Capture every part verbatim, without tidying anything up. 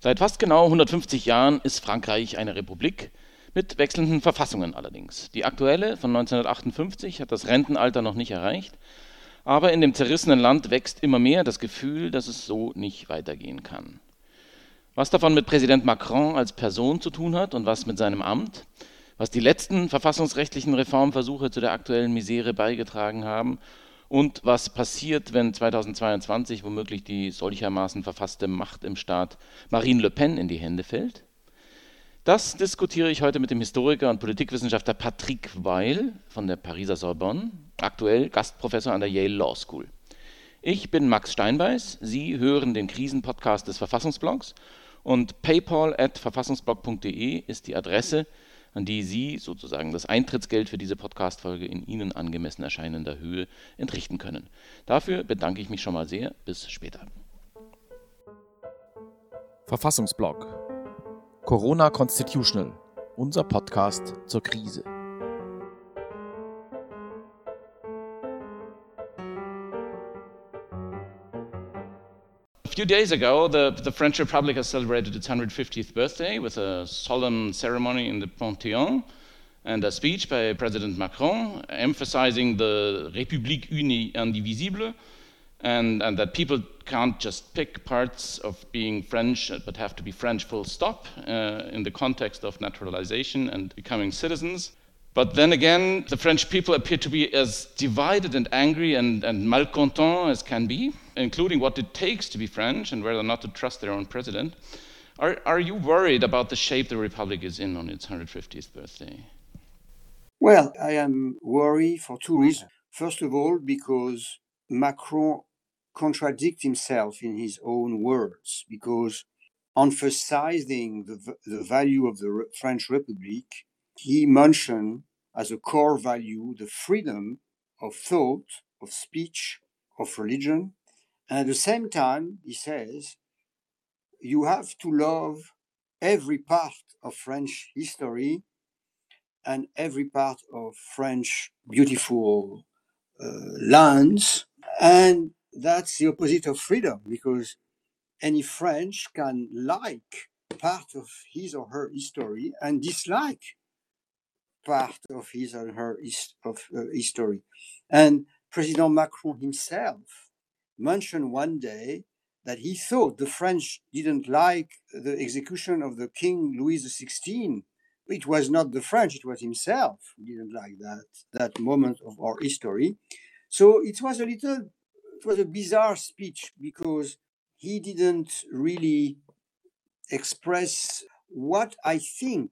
Seit fast genau hundertfünfzig Jahren ist Frankreich eine Republik, mit wechselnden Verfassungen allerdings. Die aktuelle von neunzehnhundertachtundfünfzig hat das Rentenalter noch nicht erreicht, aber in dem zerrissenen Land wächst immer mehr das Gefühl, dass es so nicht weitergehen kann. Was davon mit Präsident Macron als Person zu tun hat und was mit seinem Amt, was die letzten verfassungsrechtlichen Reformversuche zu der aktuellen Misere beigetragen haben und was passiert, wenn zweitausendzweiundzwanzig womöglich die solchermaßen verfasste Macht im Staat Marine Le Pen in die Hände fällt? Das diskutiere ich heute mit dem Historiker und Politikwissenschaftler Patrick Weil von der Pariser Sorbonne, aktuell Gastprofessor an der Yale Law School. Ich bin Max Steinbeiß, Sie hören den Krisenpodcast des Verfassungsblogs und paypal at verfassungsblog punkt de ist die Adresse, an die Sie sozusagen das Eintrittsgeld für diese Podcast-Folge in Ihnen angemessen erscheinender Höhe entrichten können. Dafür bedanke ich mich schon mal sehr. Bis später. Verfassungsblog Corona Constitutional, unser Podcast zur Krise. A few days ago, the, the French Republic has celebrated its one hundred fiftieth birthday with a solemn ceremony in the Panthéon and a speech by President Macron emphasizing the République unie indivisible and, and that people can't just pick parts of being French but have to be French full stop uh, in the context of naturalization and becoming citizens. But then again, the French people appear to be as divided and angry and, and malcontent as can be, including what it takes to be French and whether or not to trust their own president. Are, are you worried about the shape the Republic is in on its one hundred fiftieth birthday? Well, I am worried for two reasons. First of all, because Macron contradicts himself in his own words, because emphasizing the, the value of the French Republic, he mentioned as a core value the freedom of thought, of speech, of religion. And at the same time, he says, you have to love every part of French history and every part of French beautiful uh, lands. And that's the opposite of freedom, because any French can like part of his or her history and dislike part of his or her of, uh, history. And President Macron himself mentioned one day that he thought the French didn't like the execution of the King Louis the sixteenth. It was not the French, it was himself who didn't like that, that moment of our history. So it was a little, it was a bizarre speech because he didn't really express what I think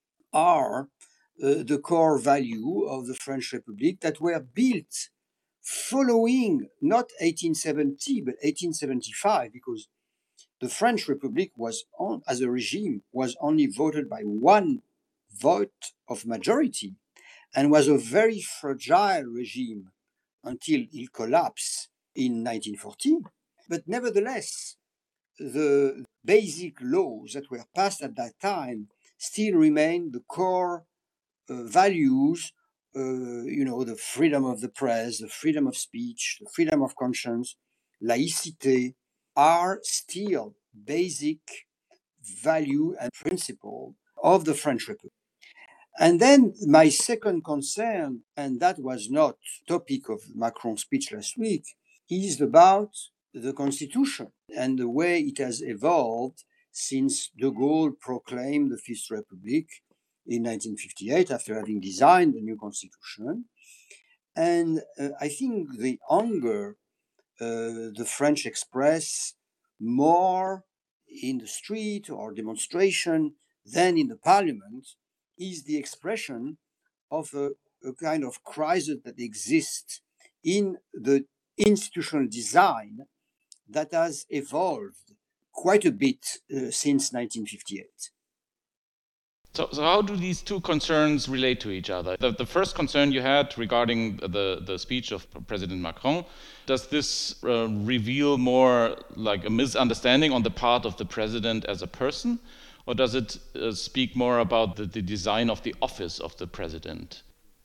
are uh, the core value of the French Republic that were built following not eighteen seventy, but eighteen seventy-five, because the French Republic was, on, as a regime, was only voted by one vote of majority and was a very fragile regime until it collapsed in nineteen fourteen. But nevertheless, the basic laws that were passed at that time still remain the core uh, values, uh, you know, the freedom of the press, the freedom of speech, the freedom of conscience, laïcité, are still basic value and principle of the French Republic. And then my second concern, and that was not topic of Macron's speech last week, is about the Constitution and the way it has evolved since de Gaulle proclaimed the Fifth Republic in nineteen fifty-eight after having designed the new Constitution. And uh, I think the anger uh, the French express more in the street or demonstration than in the parliament is the expression of a, a kind of crisis that exists in the institutional design that has evolved quite a bit uh, since nineteen fifty-eight. So, so how do these two concerns relate to each other? The, the first concern you had regarding the, the speech of President Macron, does this uh, reveal more like a misunderstanding on the part of the president as a person? Or does it uh, speak more about the, the design of the office of the president?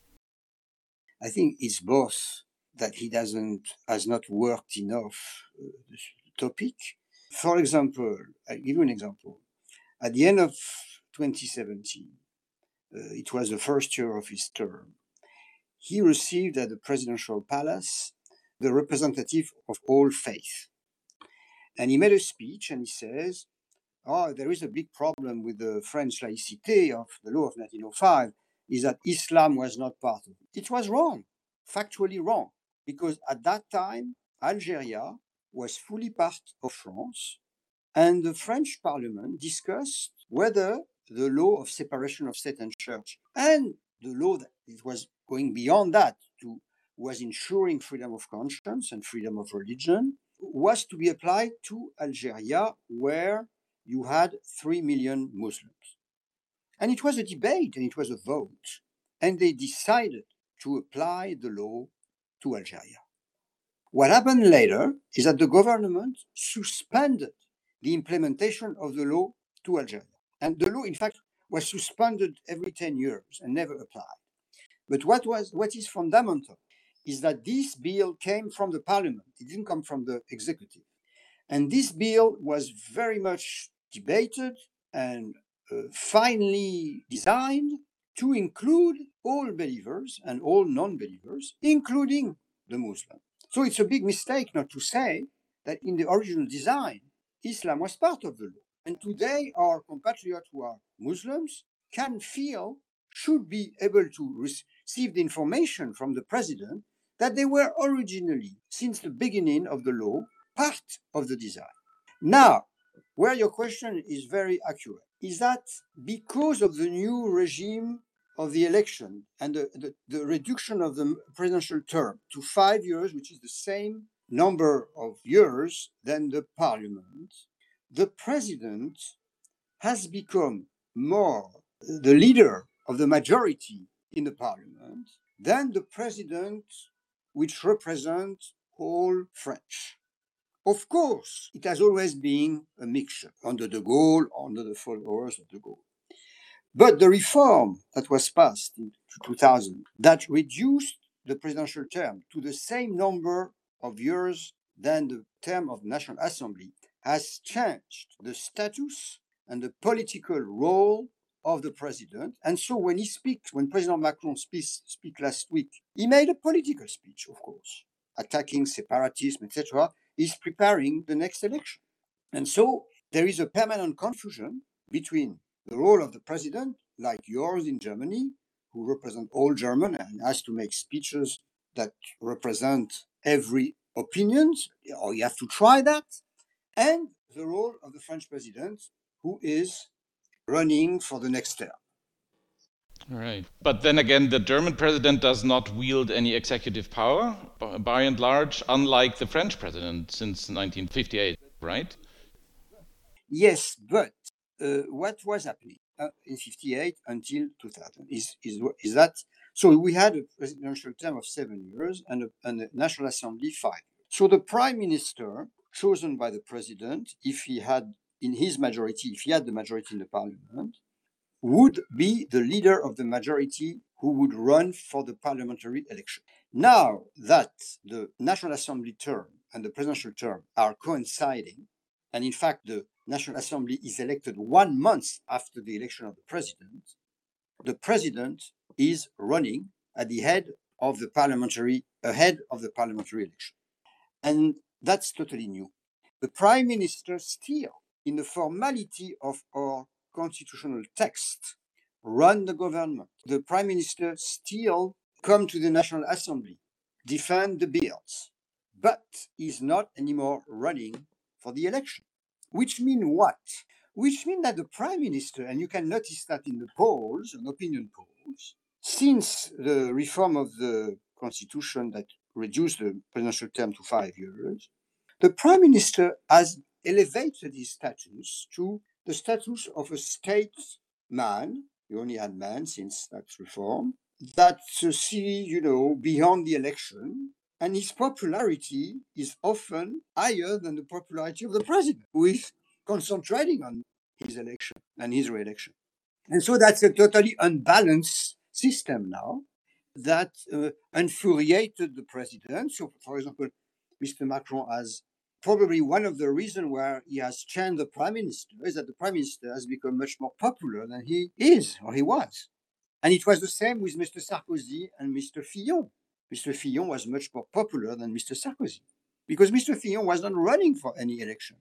I think it's both, that he doesn't has not worked enough uh, the topic, For example, I'll give you an example. At the end of twenty seventeen, uh, it was the first year of his term, he received at the presidential palace the representative of all faith. And he made a speech and he says, oh, there is a big problem with the French laïcité of the law of nineteen oh five, is that Islam was not part of it. It was wrong, factually wrong, because at that time, Algeria was fully part of France, and the French parliament discussed whether the law of separation of state and church and the law that it was going beyond that to was ensuring freedom of conscience and freedom of religion was to be applied to Algeria, where you had three million Muslims. And it was a debate and it was a vote. And they decided to apply the law to Algeria. What happened later is that the government suspended the implementation of the law to Algeria. And the law, in fact, was suspended every ten years and never applied. But what was what is fundamental is that this bill came from the parliament. It didn't come from the executive. And this bill was very much debated and uh, finally designed to include all believers and all non-believers, including the Muslim. So it's a big mistake not to say that in the original design, Islam was part of the law. And today, our compatriots who are Muslims can feel, should be able to receive the information from the president that they were originally, since the beginning of the law, part of the design. Now, where your question is very accurate, is that because of the new regime of the election and the, the, the reduction of the presidential term to five years, which is the same number of years than the parliament, the president has become more the leader of the majority in the parliament than the president which represents all French. Of course, it has always been a mixture under de Gaulle, under the followers of de Gaulle. But the reform that was passed in two thousand, that reduced the presidential term to the same number of years than the term of the National Assembly, has changed the status and the political role of the president. And so when he speaks, when President Macron speaks speak last week, he made a political speech, of course, attacking separatism, et cetera. He's preparing the next election. And so there is a permanent confusion between the role of the president, like yours in Germany, who represent all German and has to make speeches that represent every opinion, or you have to try that, and the role of the French president, who is running for the next term. Right. But then again, the German president does not wield any executive power, by and large, unlike the French president since nineteen fifty-eight, right? Yes, but uh, what was happening uh, in fifty-eight until two thousand is, is, is that, so we had a presidential term of seven years and a, and a National Assembly five. So the prime minister chosen by the president, if he had in his majority, if he had the majority in the parliament, would be the leader of the majority who would run for the parliamentary election. Now that the National Assembly term and the presidential term are coinciding, and in fact the National Assembly is elected one month after the election of the president, the president is running at the head of the parliamentary, ahead of the parliamentary election. And that's totally new. The prime minister still, in the formality of our constitutional text, run the government. The prime minister still come to the National Assembly, defend the bills, but is not anymore running for the election. Which mean what? Which mean that the prime minister, and you can notice that in the polls, and opinion polls, since the reform of the constitution that reduced the presidential term to five years, the prime minister has elevated his status to the status of a statesman. You only had man since that reform, that uh, see, you know, beyond the election, and his popularity is often higher than the popularity of the president, who is concentrating on his election and his re-election. And so that's a totally unbalanced system now that uh, infuriated the president. So, for example, Mister Macron has probably one of the reasons why he has changed the prime minister is that the prime minister has become much more popular than he is or he was. And it was the same with Mister Sarkozy and Mister Fillon. Mister Fillon was much more popular than Mister Sarkozy because Mister Fillon was not running for any election.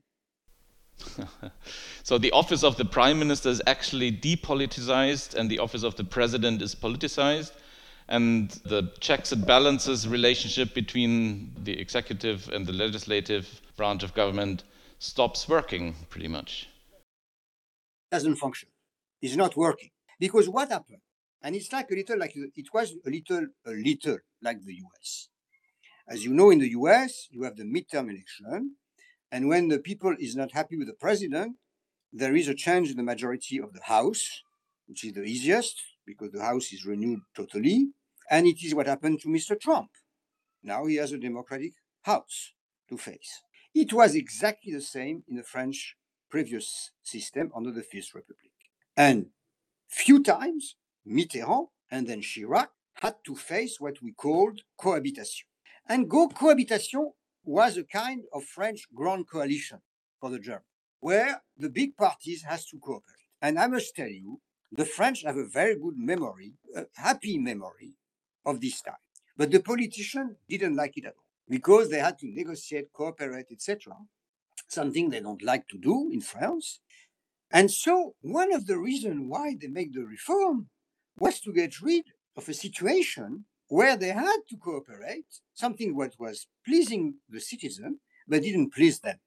So the office of the prime minister is actually depoliticized and the office of the president is politicized, and the checks and balances relationship between the executive and the legislative branch of government stops working pretty much. Doesn't function. It's not working. Because what happened? And it's like a little like it was a little a little like the U S. As you know, in the U S, you have the midterm election. And when the people is not happy with the president, there is a change in the majority of the House, which is the easiest because the House is renewed totally. And it is what happened to Mister Trump. Now he has a democratic House to face. It was exactly the same in the French previous system under the Fifth Republic. And few times, Mitterrand and then Chirac had to face what we called cohabitation. And go cohabitation was a kind of French grand coalition for the Germans, where the big parties has to cooperate. And I must tell you, the French have a very good memory, a happy memory of this time. But the politicians didn't like it at all because they had to negotiate, cooperate, et cetera, something they don't like to do in France. And so one of the reasons why they make the reform was to get rid of a situation where they had to cooperate, something what was pleasing the citizen, but didn't please them.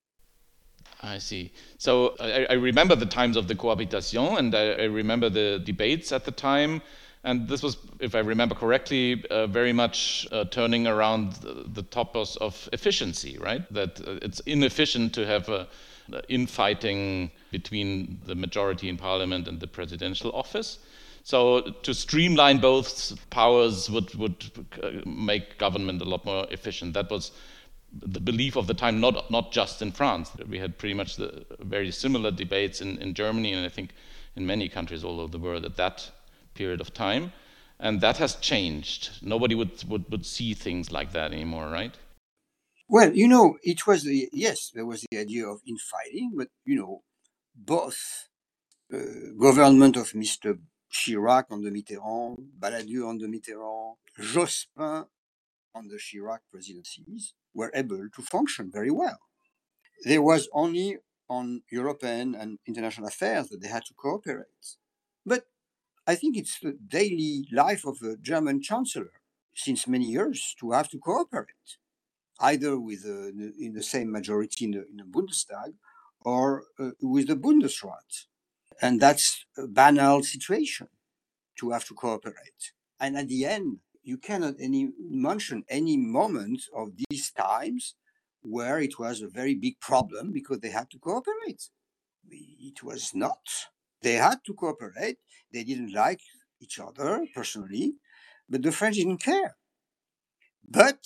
I see. So I, I remember the times of the cohabitation, and I, I remember the debates at the time. And this was, if I remember correctly, uh, very much uh, turning around the, the topics of efficiency, right? That uh, it's inefficient to have a, a infighting between the majority in parliament and the presidential office. So to streamline both powers would, would make government a lot more efficient. That was the belief of the time, not not just in France. We had pretty much the very similar debates in, in Germany, and I think in many countries all over the world at that period of time. And that has changed. Nobody would, would, would see things like that anymore, right? Well, you know, it was the, yes, there was the idea of infighting, but, you know, both uh, government of Mister Chirac on the Mitterrand, Balladur on the Mitterrand, Jospin on the Chirac presidencies were able to function very well. There was only on European and international affairs that they had to cooperate. But I think it's the daily life of a German chancellor since many years to have to cooperate, either with uh, in the same majority in the, in the Bundestag or uh, with the Bundesrat. And that's a banal situation to have to cooperate. And at the end, you cannot any mention any moment of these times where it was a very big problem because they had to cooperate. It was not. They had to cooperate. They didn't like each other personally, but the French didn't care. But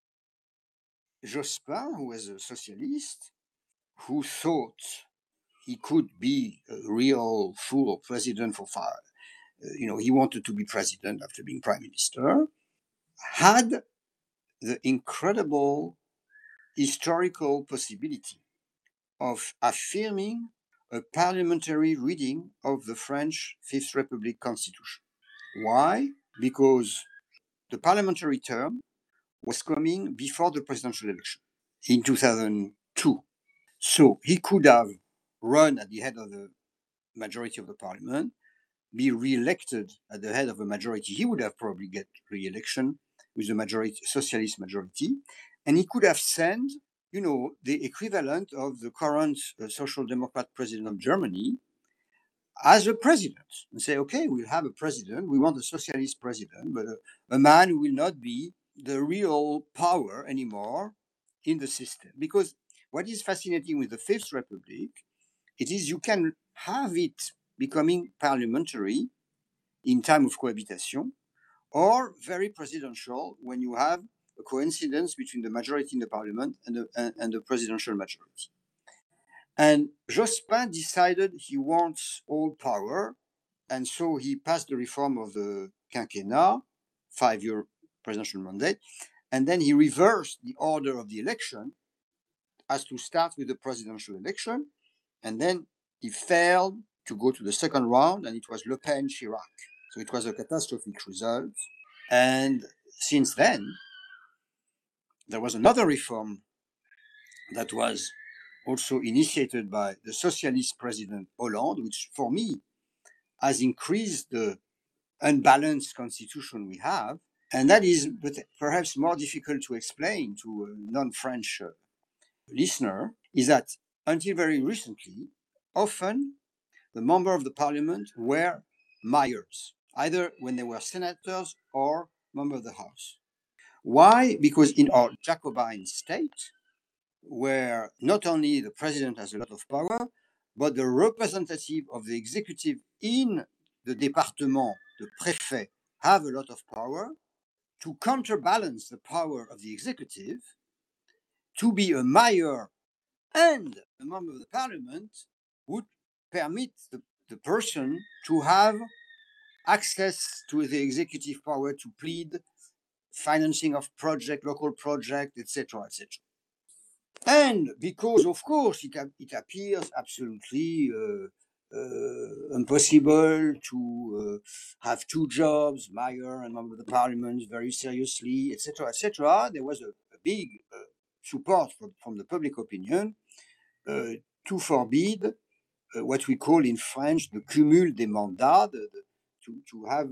Jospin, who was a socialist, who thought he could be a real full president for five, you know, he wanted to be president after being prime minister, had the incredible historical possibility of affirming a parliamentary reading of the French Fifth Republic Constitution. Why? Because the parliamentary term was coming before the presidential election in two thousand two. So he could have run at the head of the majority of the parliament, be re-elected at the head of a majority. He would have probably get re-election with the majority, socialist majority, and he could have sent, you know, the equivalent of the current uh, social democrat president of Germany as a president and say, okay, we'll have a president. We want a socialist president, but a, a man who will not be the real power anymore in the system. Because what is fascinating with the Fifth Republic, it is you can have it becoming parliamentary in time of cohabitation, or very presidential when you have a coincidence between the majority in the parliament and the, and, and the presidential majority. And Jospin decided he wants all power, and so he passed the reform of the quinquennat, five-year presidential mandate, and then he reversed the order of the election as to start with the presidential election, and then he failed to go to the second round, and it was Le Pen Chirac. So it was a catastrophic result. And since then, there was another reform that was also initiated by the socialist president Hollande, which for me has increased the unbalanced constitution we have. And that is perhaps more difficult to explain to a non-French uh, listener, is that until very recently, often the members of the parliament were mayors, either when they were senators or members of the House. Why? Because in our Jacobin state, where not only the president has a lot of power, but the representative of the executive in the département, the préfet, have a lot of power, to counterbalance the power of the executive, to be a mayor and a member of the parliament would permit the, the person to have access to the executive power to plead financing of project, local project, et cetera, et cetera. And because, of course, it, it appears absolutely uh, uh, impossible to uh, have two jobs, mayor and member of the parliament, very seriously, et cetera, et cetera. There was a, a big uh, support from, from the public opinion uh, to forbid uh, what we call in French the cumul des mandats, the, the, to, to have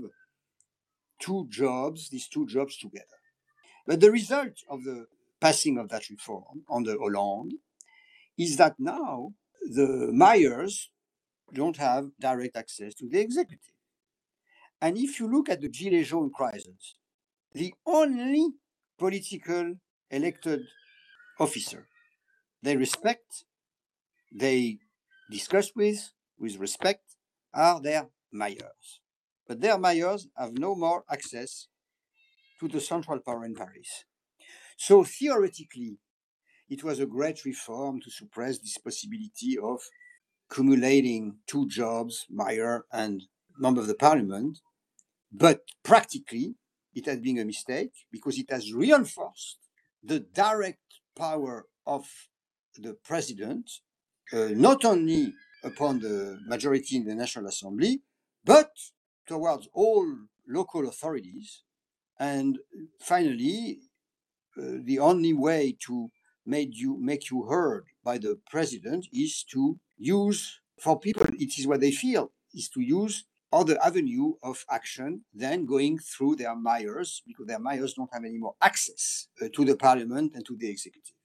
two jobs, these two jobs together. But the result of the passing of that reform under Hollande is that now the mayors don't have direct access to the executive. And if you look at the Gilets jaunes crisis, the only political elected officer they respect, they discuss with, with respect, are their mayors. But their mayors have no more access to the central power in Paris. So theoretically, it was a great reform to suppress this possibility of cumulating two jobs, mayor and member of the parliament. But practically, it has been a mistake because it has reinforced the direct power of the president, uh, not only upon the majority in the National Assembly, but towards all local authorities. And finally, uh, the only way to make you, make you heard by the president is to use, for people, it is what they feel, is to use other avenue of action than going through their mayors, because their mayors don't have any more access uh, to the parliament and to the executive.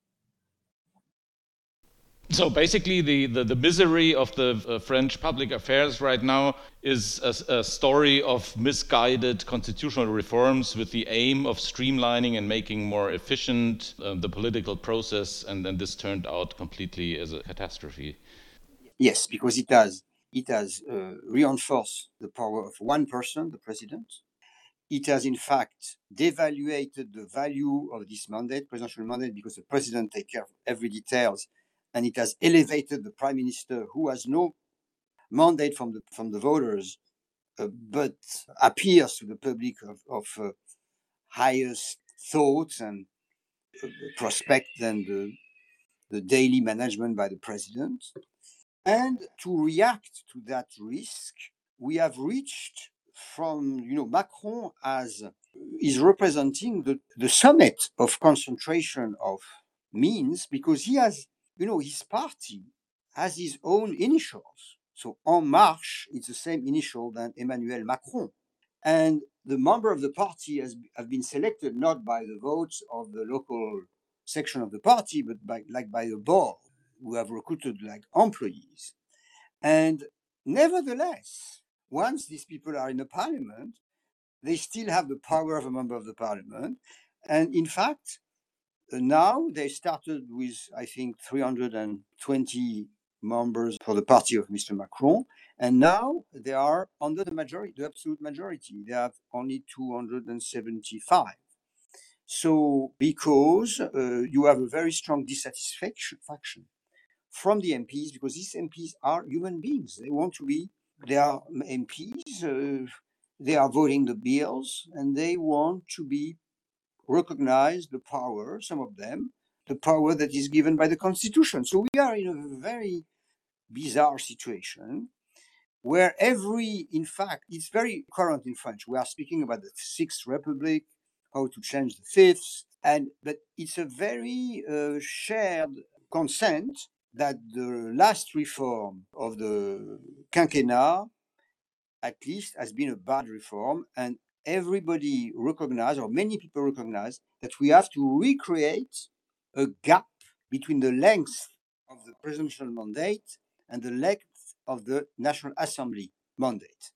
So basically, the, the, the misery of the uh, French public affairs right now is a, a story of misguided constitutional reforms with the aim of streamlining and making more efficient uh, the political process, and then this turned out completely as a catastrophe. Yes, because it has it has uh, reinforced the power of one person, the president. It has, in fact, devaluated the value of this mandate, presidential mandate, because the president takes care of every details, and it has elevated the prime minister, who has no mandate from the from the voters, uh, but appears to the public of, of uh, highest thoughts and uh, prospect than the, the daily management by the president. And to react to that risk, we have reached from, you know, Macron as is representing the, the summit of concentration of means, because he has, you know, his party has his own initials. So En Marche is the same initial than Emmanuel Macron. And the member of the party has have been selected not by the votes of the local section of the party, but by like by the board, who have recruited like employees. And nevertheless, once these people are in the parliament, they still have the power of a member of the parliament. And in fact, now they started with, I think, three hundred twenty members for the party of Mister Macron. And now they are under the majority, the absolute majority. They have only two hundred seventy-five. So because uh, you have a very strong dissatisfaction from the M Ps, because these M Ps are human beings. They want to be, they are M Ps, uh, they are voting the bills, and they want to be recognized the power, some of them, the power that is given by the Constitution. So we are in a very bizarre situation where every, in fact, it's very current in French. We are speaking about the Sixth Republic, how to change the Fifth, and but it's a very uh, shared consent that the last reform of the quinquennat, at least, has been a bad reform, and everybody recognizes, or many people recognize, that we have to recreate a gap between the length of the presidential mandate and the length of the National Assembly mandate.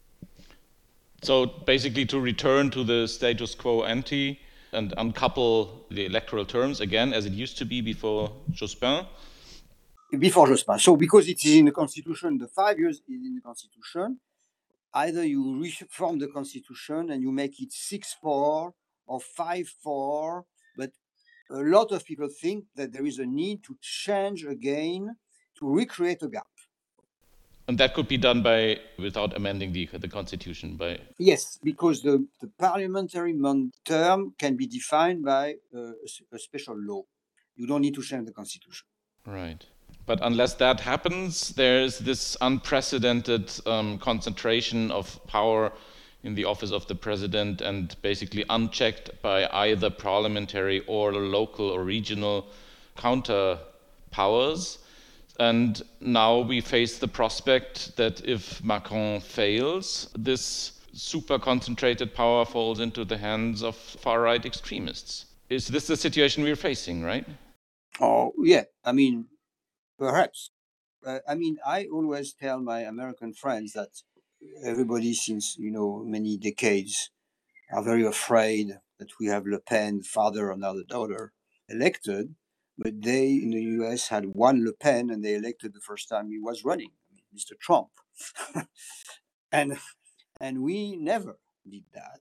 So basically to return to the status quo ante and uncouple the electoral terms again as it used to be before Jospin? Before Jospin. So because it is in the Constitution, the five years is in the Constitution, either you reform the Constitution and you make it six four or five four, but a lot of people think that there is a need to change again, to recreate a gap. And that could be done by without amending the the Constitution by yes, because the, the parliamentary term can be defined by uh, a special law. You don't need to change the Constitution. Right. But unless that happens, there's this unprecedented um, concentration of power in the office of the president and basically unchecked by either parliamentary or local or regional counter powers. And now we face the prospect that if Macron fails, this super concentrated power falls into the hands of far-right extremists. Is this the situation we're facing, right? Oh, yeah. I mean, perhaps. Uh, I mean, I always tell my American friends that everybody since, you know, many decades are very afraid that we have Le Pen, father and now the daughter, elected. But they in the U S had one Le Pen and they elected the first time he was running, Mister Trump. and and we never did that.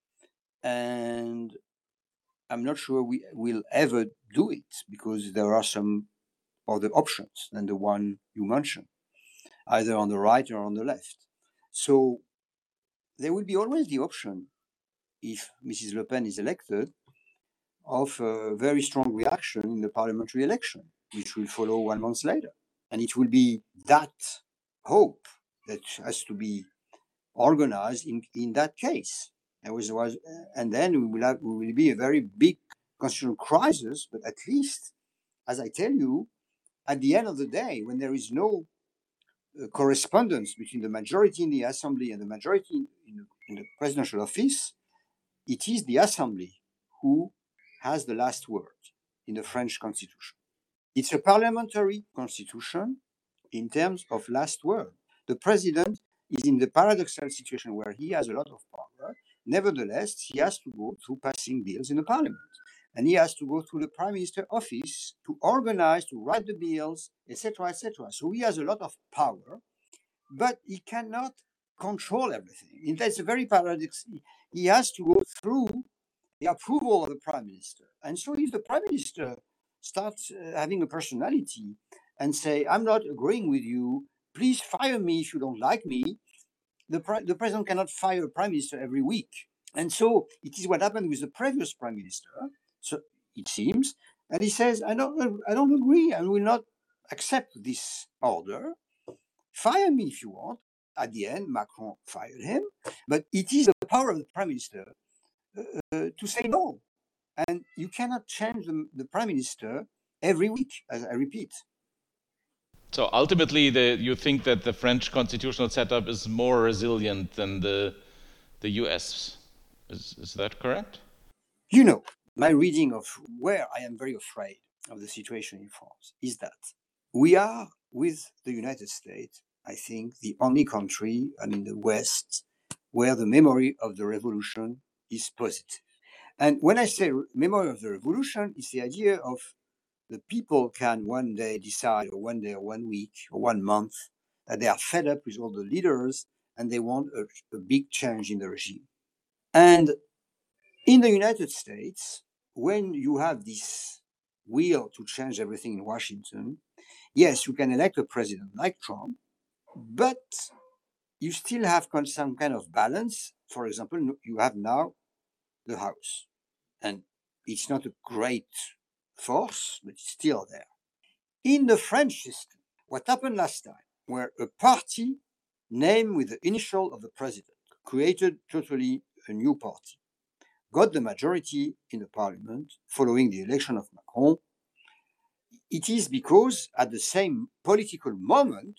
And I'm not sure we will ever do it because there are some other options than the one you mentioned, either on the right or on the left. So there will be always the option, if Missus Le Pen is elected, of a very strong reaction in the parliamentary election, which will follow one month later. And it will be that hope that has to be organized in, in that case. There was, was, and then we will, have, we will be a very big constitutional crisis, but at least, as I tell you, at the end of the day, when there is no uh, correspondence between the majority in the assembly and the majority in, in, the, in the presidential office, it is the assembly who has the last word in the French constitution. It's a parliamentary constitution in terms of last word. The president is in the paradoxal situation where he has a lot of power. Nevertheless, he has to go through passing bills in the parliament. And he has to go through the prime minister office to organize, to write the bills, et cetera, et cetera. So he has a lot of power, but he cannot control everything. That's a very paradox. He has to go through the approval of the prime minister. And so if the prime minister starts uh, having a personality and say, I'm not agreeing with you, please fire me if you don't like me, the, pre- the president cannot fire a prime minister every week. And so it is what happened with the previous prime minister, so it seems, and he says, I don't, I don't agree, I will not accept this order. Fire me if you want. At the end, Macron fired him, but it is the power of the prime minister uh, to say no. And you cannot change the, the prime minister every week, as I repeat. So ultimately, the, you think that the French constitutional setup is more resilient than the the U S. Is, is that correct? You know, my reading of where I am very afraid of the situation in France is that we are, with the United States, I think, the only country, I mean, the West, where the memory of the revolution is positive. And when I say memory of the revolution, it's the idea of the people can one day decide, or one day, or one week, or one month, that they are fed up with all the leaders and they want a, a big change in the regime. And in the United States, when you have this will to change everything in Washington, yes, you can elect a president like Trump, but you still have some kind of balance. For example, you have now the House, and it's not a great force, but it's still there. In the French system, what happened last time, where a party named with the initial of the president created totally a new party, got the majority in the parliament following the election of Macron, it is because at the same political moment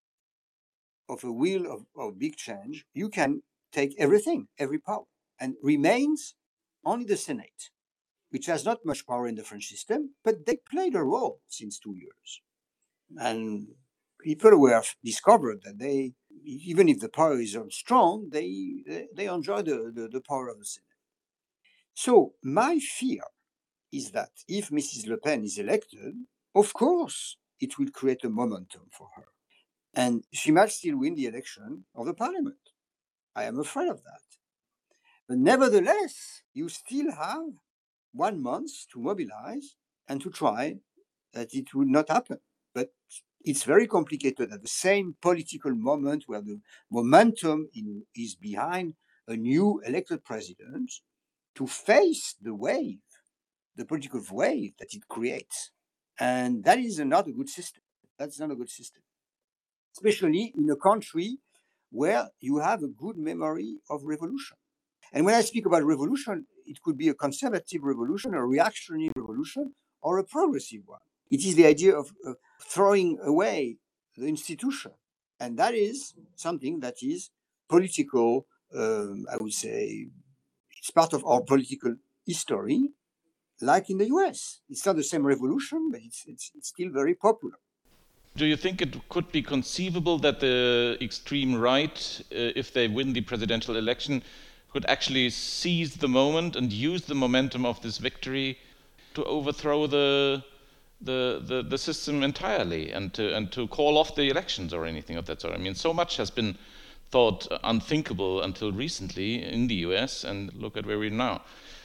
of a wheel of, of big change, you can take everything, every power, and remains only the Senate, which has not much power in the French system, but they played a role since two years. And people were discovered that they, even if the power is strong, they, they, they enjoy the, the, the power of the Senate. So my fear is that if Missus Le Pen is elected, of course, it will create a momentum for her. And she might still win the election of the parliament. I am afraid of that. But nevertheless, you still have one month to mobilize and to try that it would not happen. But it's very complicated at the same political moment where the momentum in, is behind a new elected president to face the wave, the political wave that it creates. And that is not a good system. That's not a good system, especially in a country where you have a good memory of revolution. And when I speak about revolution, it could be a conservative revolution, a reactionary revolution, or a progressive one. It is the idea of uh, throwing away the institution. And that is something that is political, um, I would say, it's part of our political history, like in the U S. It's not the same revolution, but it's, it's, it's still very popular. Do you think it could be conceivable that the extreme right, uh, if they win the presidential election, could actually seize the moment and use the momentum of this victory to overthrow the the the, the system entirely and to and to call off the elections or anything of that sort? I mean, so much has been thought unthinkable until recently in the U S, and look at where we are now.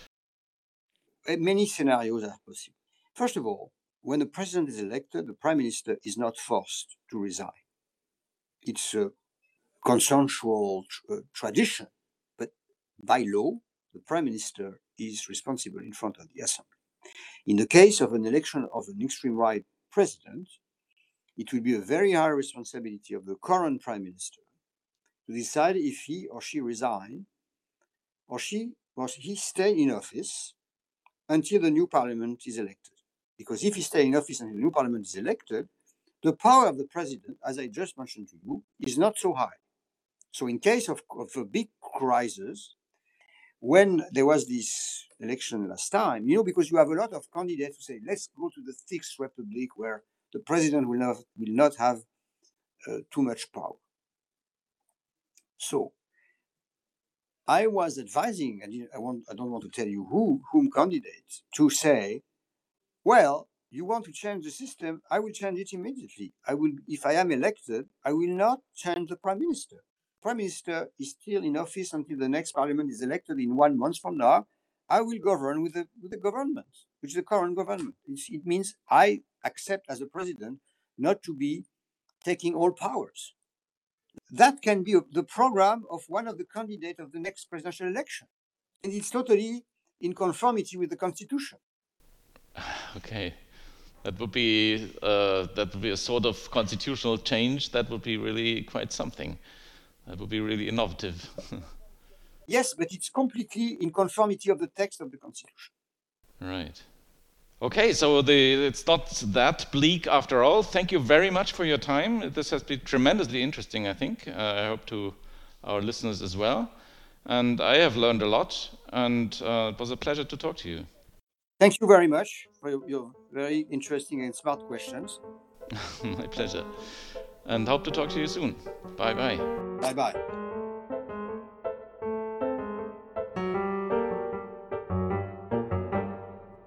Many scenarios are possible. First of all, when the president is elected, the prime minister is not forced to resign. It's a consensual uh, tradition, but by law, the prime minister is responsible in front of the assembly. In the case of an election of an extreme right president, it will be a very high responsibility of the current prime minister to decide if he or she resign or she or he stay in office until the new parliament is elected. Because if he stays in office until the new parliament is elected, the power of the president, as I just mentioned to you, is not so high. So in case of, of a big crisis, when there was this election last time, you know, because you have a lot of candidates who say, let's go to the fixed republic where the president will not, will not have uh, too much power. So I was advising, and I, want, I don't want to tell you who, whom candidates, to say, well, you want to change the system, I will change it immediately. I will, if I am elected, I will not change the prime minister. Prime minister is still in office until the next parliament is elected in one month from now. I will govern with the, with the government, which is the current government. It's, it means I accept as a president not to be taking all powers. That can be the program of one of the candidates of the next presidential election. And it's totally in conformity with the constitution. Okay, that would be uh, that would be a sort of constitutional change. That would be really quite something. That would be really innovative. Yes, but it's completely in conformity of the text of the constitution. Right. Okay, so the it's not that bleak after all. Thank you very much for your time. This has been tremendously interesting, I think. Uh, I hope to our listeners as well. And I have learned a lot, and uh, it was a pleasure to talk to you. Thank you very much for your very interesting and smart questions. My pleasure. And hope to talk to you soon. Bye-bye. Bye-bye.